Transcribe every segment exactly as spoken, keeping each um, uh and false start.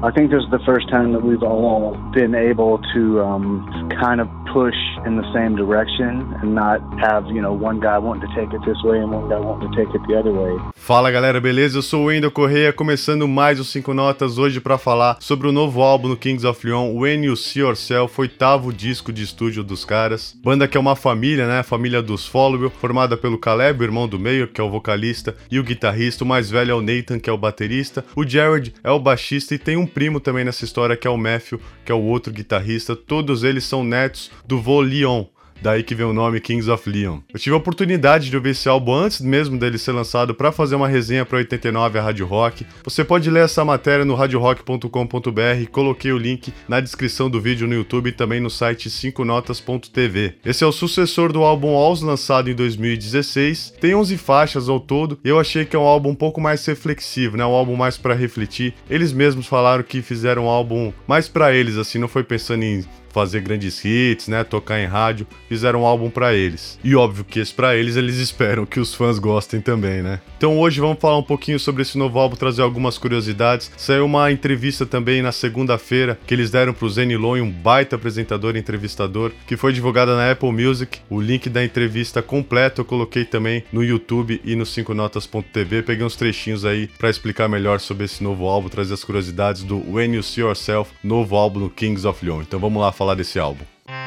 I think this is the first time that we've all been able to um, kind of push in the same direction and not have, you know, one guy wanting to take it this way and one guy wanting to take it the other way. Fala galera, beleza? Eu sou o Wendel Correia, começando mais os cinco Notas hoje para falar sobre o novo álbum do Kings of Leon, When You See Yourself, oitavo disco de estúdio dos caras. Banda que é uma família, né? A família dos Followell, formada pelo Caleb, o irmão do meio, que é o vocalista, e o guitarrista. O mais velho é o Nathan, que é o baterista. O Jared é o baixista e tem um primo também nessa história, que é o Matthew, que é o outro guitarrista. Todos eles são netos do vô Leon. Daí que vem o nome Kings of Leon. Eu tive a oportunidade de ouvir esse álbum antes mesmo dele ser lançado para fazer uma resenha para oitenta e nove, a Rádio Rock. Você pode ler essa matéria no radio rock ponto com ponto b r, coloquei o link na descrição do vídeo no YouTube e também no site cinco notas ponto t v. Esse é o sucessor do álbum Walls, lançado em dois mil e dezesseis. Tem onze faixas ao todo e eu achei que é um álbum um pouco mais reflexivo, né? Um álbum mais para refletir. Eles mesmos falaram que fizeram um álbum mais para eles, assim, não foi pensando em fazer grandes hits, né, tocar em rádio, fizeram um álbum pra eles. E óbvio que esse pra eles, eles esperam que os fãs gostem também, né? Então hoje vamos falar um pouquinho sobre esse novo álbum, trazer algumas curiosidades. Saiu uma entrevista também na segunda-feira que eles deram pro Zane Lowe, um baita apresentador e entrevistador, que foi divulgada na Apple Music. O link da entrevista completo eu coloquei também no YouTube e no cinco notas ponto t v. Peguei uns trechinhos aí pra explicar melhor sobre esse novo álbum, trazer as curiosidades do When You See Yourself, novo álbum do Kings of Leon. Então vamos lá falar desse álbum.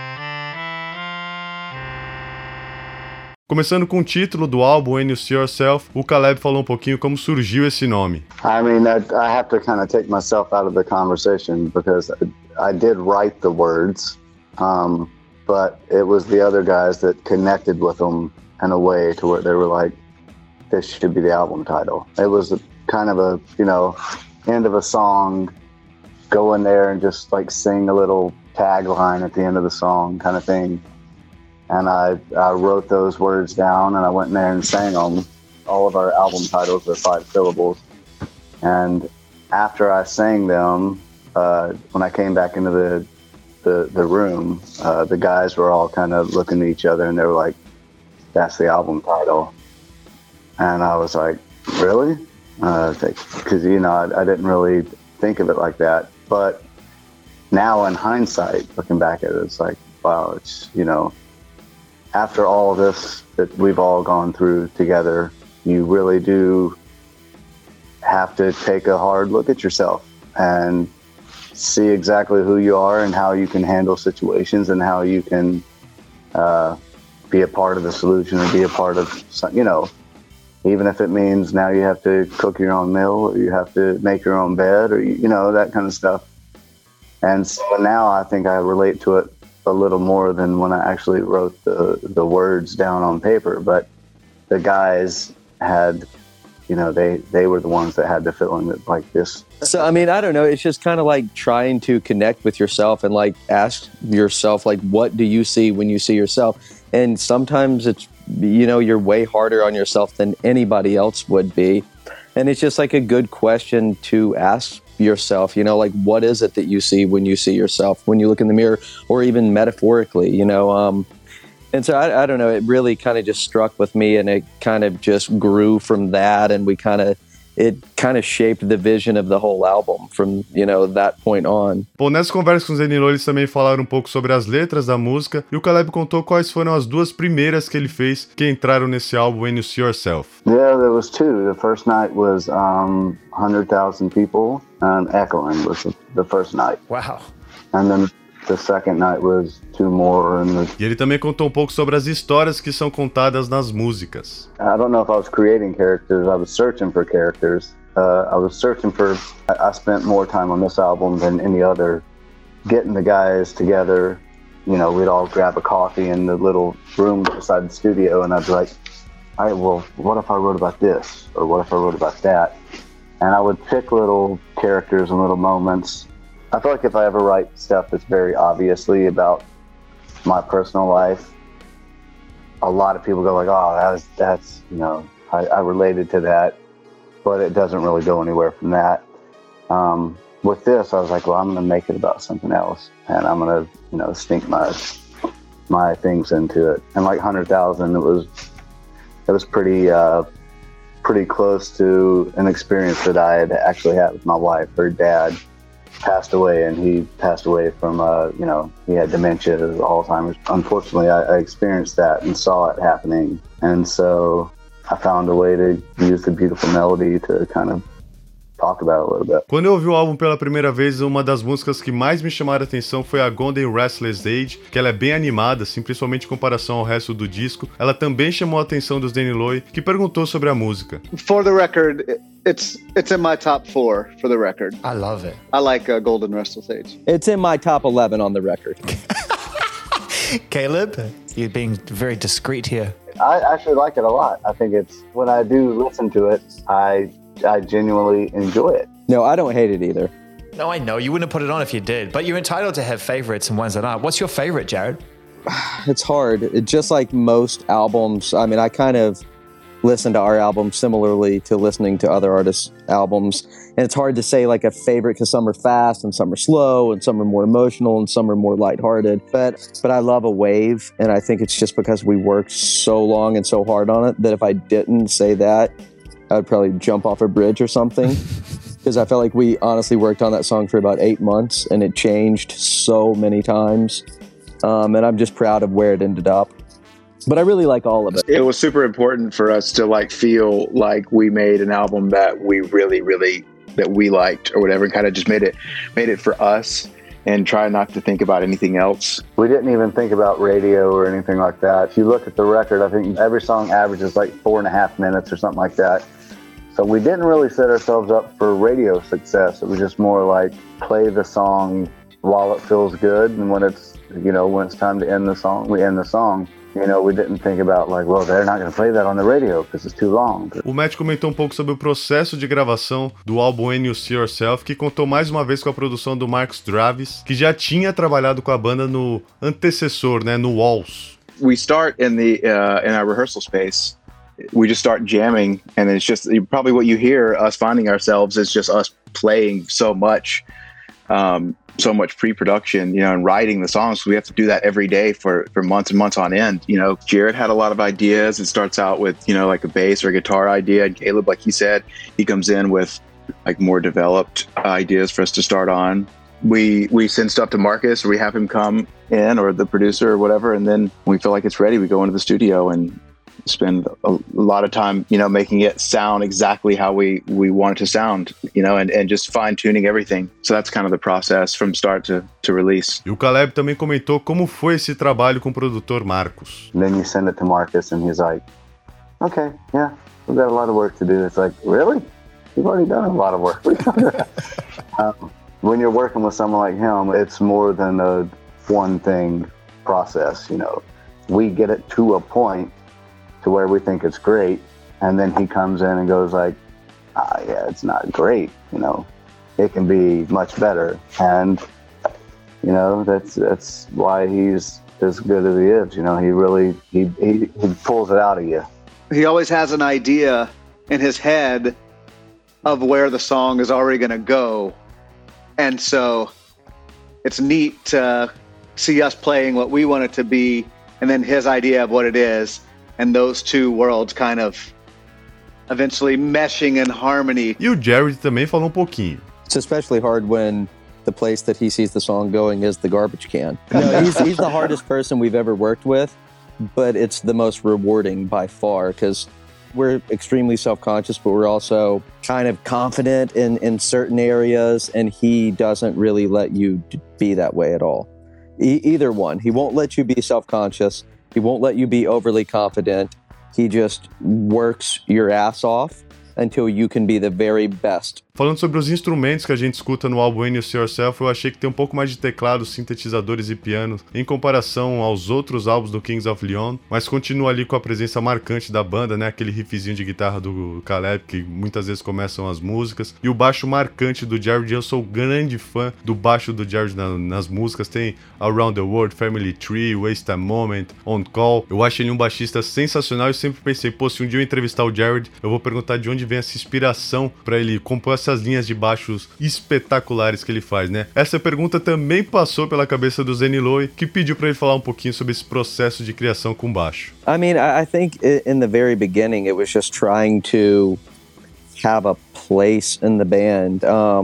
Começando com o título do álbum, When You See Yourself, o Caleb falou um pouquinho como surgiu esse nome. I mean, I, I have to kind of take myself out of the conversation because I, I did write the words, um, but it was the other guys that connected with them in a way to where they were like, this should be the album title. It was a, kind of a, you know, end of a song, go in there and just like sing a little tagline at the end of the song kind of thing. And I, I wrote those words down and I went in there and sang them. All of our album titles are five syllables. And after I sang them, uh, when I came back into the the, the room, uh, the guys were all kind of looking at each other and they were like, that's the album title. And I was like, really? Because, uh, you know, I, I didn't really think of it like that. But now in hindsight, looking back at it, it's like, wow, it's, you know, after all of this that we've all gone through together, you really do have to take a hard look at yourself and see exactly who you are and how you can handle situations and how you can uh, be a part of the solution and be a part of, you know, even if it means now you have to cook your own meal or you have to make your own bed or, you know, that kind of stuff. And so now I think I relate to it a little more than when I actually wrote the, the words down on paper. But the guys had, you know, they, they were the ones that had the feeling that like this. So, I mean, I don't know. It's just kind of like trying to connect with yourself and like ask yourself, like, what do you see when you see yourself? And sometimes it's, you know, you're way harder on yourself than anybody else would be. And it's just like a good question to ask yourself, you know, like, what is it that you see when you see yourself, when you look in the mirror, or even metaphorically, you know? Um, and so I, I don't know, it really kind of just struck with me and it kind of just grew from that. And we kind of, it kind of shaped the vision of the whole album from, you know, that point on. Bom, nessa conversa com o Zane Lowe, eles também falaram um pouco sobre as letras da música e o Caleb contou quais foram as duas primeiras que ele fez que entraram nesse álbum When You See Yourself. Yeah, there was two. The first night was um, one hundred thousand people and Echoing was the, the first night. Wow. And then the second night was two more. And the... E ele também contou um pouco sobre as histórias que são contadas nas músicas. I don't know if I was creating characters. I was searching for characters. Uh, I was searching for... I spent more time on this album than any other. Getting the guys together, you know, we'd all grab a coffee in the little room beside the studio and I'd be like, all right, well, what if I wrote about this? Or what if I wrote about that? And I would pick little characters and little moments. I feel like if I ever write stuff that's very obviously about my personal life, a lot of people go like, oh, that's, that's you know, I, I related to that, but it doesn't really go anywhere from that. Um, with this, I was like, well, I'm going to make it about something else, and I'm going to, you know, sneak my my things into it. And like one hundred thousand, it was it was pretty uh, pretty close to an experience that I had actually had with my wife. Her dad passed away, and he passed away from, uh, you know, he had dementia, Alzheimer's. Unfortunately, I, I experienced that and saw it happening. And so I found a way to use the beautiful melody to kind of talk about it a little bit. Quando eu ouvi o álbum pela primeira vez, uma das músicas que mais me chamaram a atenção foi a Golden Restless Age, que ela é bem animada, assim, principalmente em comparação ao resto do disco. Ela também chamou a atenção dos Danny Loy, que perguntou sobre a música. For the record, it's it's in my top four for the record. I love it. I like uh, Golden Restless Age. It's in my top eleven on the record. Caleb, you're being very discreet here. I actually like it a lot. I think it's, when I do listen to it, I I genuinely enjoy it. No, I don't hate it either. No, I know. You wouldn't put it on if you did, but you're entitled to have favorites and ones that aren't. What's your favorite, Jared? It's hard. It, just like most albums, I mean, I kind of listen to our album similarly to listening to other artists' albums. And it's hard to say like a favorite because some are fast and some are slow and some are more emotional and some are more lighthearted. But but I love A Wave, and I think it's just because we worked so long and so hard on it that if I didn't say that, I would probably jump off a bridge or something. Because I felt like we honestly worked on that song for about eight months and it changed so many times. Um, and I'm just proud of where it ended up. But I really like all of it. It was super important for us to like feel like we made an album that we really, really, that we liked or whatever, and kind of just made it, made it for us and try not to think about anything else. We didn't even think about radio or anything like that. If you look at the record, I think every song averages like four and a half minutes or something like that. So we didn't really set ourselves up for radio success. It was just more like play the song while it feels good, and when it's, you know, when it's time to end the song, we end the song. You know, we didn't think about like, well, they're not going to play that on the radio because it's too long. O Matt comentou um pouco sobre o processo de gravação do álbum When You See Yourself, que contou mais uma vez com a produção do Marcus Dravis, que já tinha trabalhado com a banda no antecessor, né, no Walls. We start in the uh, in our rehearsal space. We just start jamming, and it's just probably what you hear us finding ourselves is just us playing so much, um, so much pre-production, you know, and writing the songs. We have to do that every day for, for months and months on end. You know, Jared had a lot of ideas. It starts out with, you know, like a bass or a guitar idea. And Caleb, like he said, he comes in with like more developed ideas for us to start on. We we send stuff to Marcus, or we have him come in, or the producer or whatever. And then when we feel like it's ready, we go into the studio and spend a lot of time, you know, making it sound exactly how we, we want it to sound, you know, and, and just fine-tuning everything. So that's kind of the process from start to, to release. E o Caleb também comentou como foi esse trabalho com o produtor Marcos. And then you send it to Marcus and he's like, okay, yeah, we've got a lot of work to do. It's like, really? You've already done a lot of work. um, when you're working with someone like him, it's more than a one thing process, you know. We get it to a point to where we think it's great, and then he comes in and goes like, ah, yeah, it's not great, you know, it can be much better. And, you know, that's that's why he's as good as he is. You know, he really, he, he, he pulls it out of you. He always has an idea in his head of where the song is already going to go. And so it's neat to see us playing what we want it to be, and then his idea of what it is. And those two worlds kind of eventually meshing in harmony. E o Jared também falou um pouquinho. It's especially hard when the place that he sees the song going is the garbage can. No, he's, he's the hardest person we've ever worked with, but it's the most rewarding by far because we're extremely self-conscious, but we're also kind of confident in, in certain areas, and he doesn't really let you be that way at all. E- either one. He won't let you be self-conscious. He won't let you be overly confident. He just works your ass off until you can be the very best. Falando sobre os instrumentos que a gente escuta no álbum When You See Yourself, eu achei que tem um pouco mais de teclados, sintetizadores e pianos em comparação aos outros álbuns do Kings of Leon, mas continua ali com a presença marcante da banda, né? Aquele riffzinho de guitarra do Caleb, que muitas vezes começam as músicas, e o baixo marcante do Jared. Eu sou grande fã do baixo do Jared na, nas músicas. Tem Around the World, Family Tree, Waste a Moment, On Call. Eu acho ele um baixista sensacional e sempre pensei, pô, se um dia eu entrevistar o Jared, eu vou perguntar de onde vem essa inspiração para ele compor essas linhas de baixos espetaculares que ele faz, né? Essa pergunta também passou pela cabeça do Danny Loy, que pediu para ele falar um pouquinho sobre esse processo de criação com baixo. I mean, I think in the very beginning, it was just trying to have a place in the band. Um,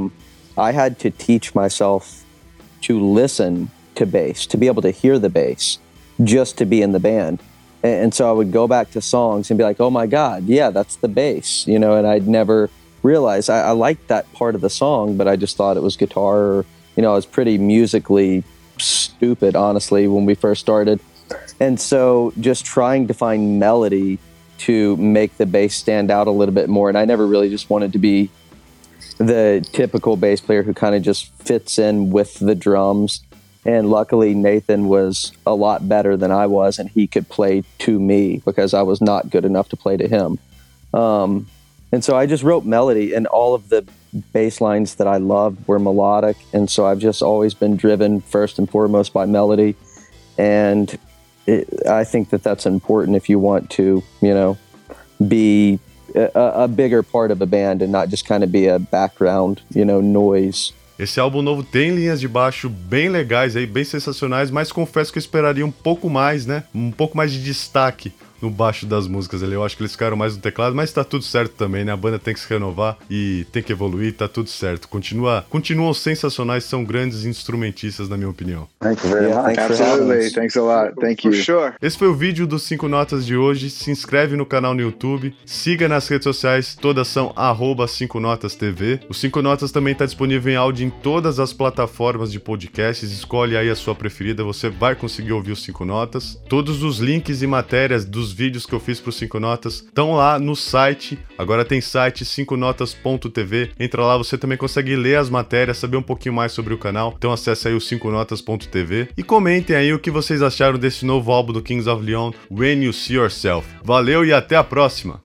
I had to teach myself to listen to bass, to be able to hear the bass, just to be in the band. And, and so I would go back to songs and be like, oh my God, yeah, that's the bass, you know, and I'd never realized I, I liked that part of the song, but I just thought it was guitar, or, you know, I was pretty musically stupid, honestly, when we first started. And so just trying to find melody to make the bass stand out a little bit more. And I never really just wanted to be the typical bass player who kind of just fits in with the drums. And luckily Nathan was a lot better than I was, and he could play to me because I was not good enough to play to him. Um, and so I just wrote melody, and all of the bass lines that I loved were melodic. And so I've just always been driven first and foremost by melody. And it, I think that that's important if you want to, you know, be a, a bigger part of a band and not just kind of be a background, you know, noise. Esse álbum novo tem linhas de baixo bem legais aí, bem sensacionais, mas confesso que eu esperaria um pouco mais, né? Um pouco mais de destaque no baixo das músicas ali. Eu acho que eles ficaram mais no teclado, mas tá tudo certo também, né? A banda tem que se renovar e tem que evoluir, tá tudo certo. Continua, continuam sensacionais, são grandes instrumentistas, na minha opinião. Thank you very Yeah, much. thanks for having Absolutely. us. Thanks a lot. Thank you. For sure. Esse foi o vídeo dos cinco Notas de hoje. Se inscreve no canal no YouTube, siga nas redes sociais, todas são arroba cinco notas T V. O cinco Notas também está disponível em áudio em todas as plataformas de podcasts. Escolhe aí a sua preferida, você vai conseguir ouvir os cinco Notas. Todos os links e matérias dos vídeos que eu fiz para os cinco Notas estão lá no site. Agora tem site cinco notas ponto T V. Entra lá, você também consegue ler as matérias, saber um pouquinho mais sobre o canal. Então acesse aí o cinco notas ponto T V e comentem aí o que vocês acharam desse novo álbum do Kings of Leon, When You See Yourself. Valeu e até a próxima!